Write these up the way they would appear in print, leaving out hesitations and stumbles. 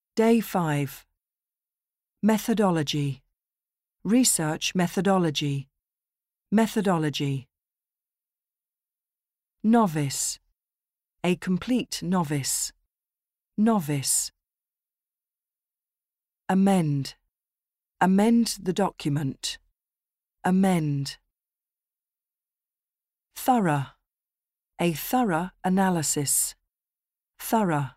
Day 5. Methodology. Research methodology. Methodology. Novice. A complete novice. Novice. Amend. Amend the document. Amend. Thorough. A thorough analysis. Thorough.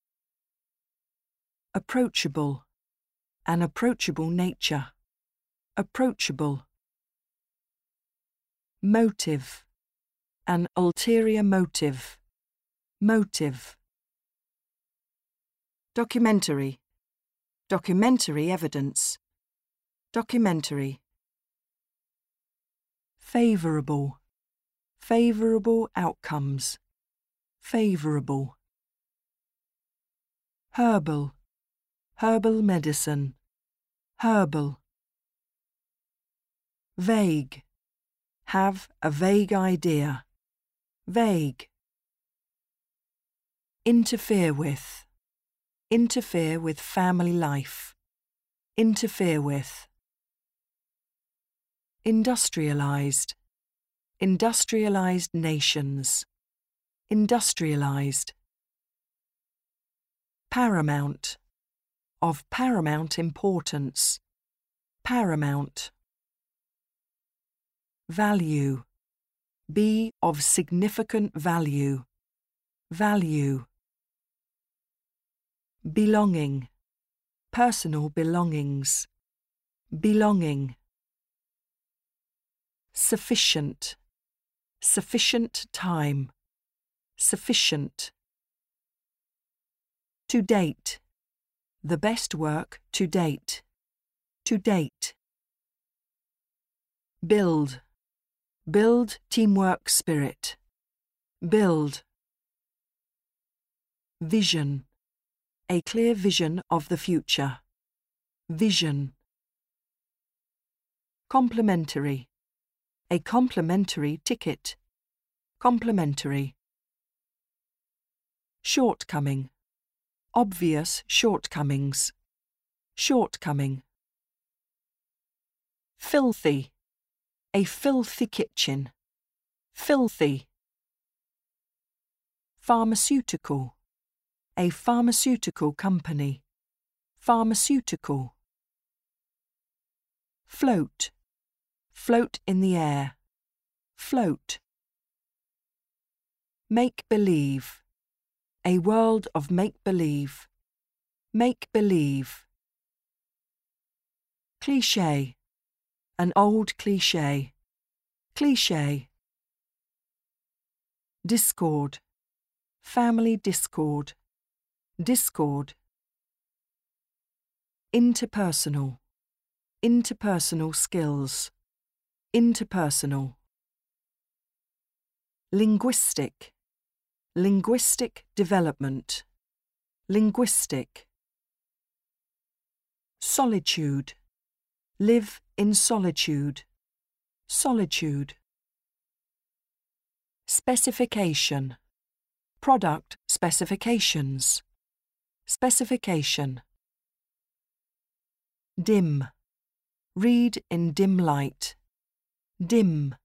Approachable. An approachable nature. Approachable. Motive. An ulterior motive. Motive. Documentary. Documentary evidence. Documentary. Favourable. Favourable outcomes. Favourable. Herbal. Herbal medicine. Herbal. Vague. Have a vague idea. Vague. Interfere with. Interfere with family life. Interfere with. Industrialized. Industrialized nations. Industrialized. Paramount. Of paramount importance. Paramount. Value. Be of significant value. Value. Belonging. Personal belongings. Belonging. Sufficient. Sufficient time. Sufficient. To date. The best work to date. To date. Build. Build teamwork spirit. Build. Vision. A clear vision of the future. Vision. Complementary. A complimentary ticket. Complementary. Shortcoming. Obvious shortcomings. Shortcoming. Filthy. A filthy kitchen. Filthy. Pharmaceutical. A pharmaceutical company. Pharmaceutical. Float. Float in the air. Float. Make-believe. A world of make-believe. Make-believe. Cliché. An old cliché. Cliché. Discord. Family discord. Discord. Interpersonal. Interpersonal skills. Interpersonal. Linguistic. Linguistic development. Linguistic. Solitude. Live in solitude. Solitude. Specification. Product specifications. Specification. Dim. Read in dim light. Dim.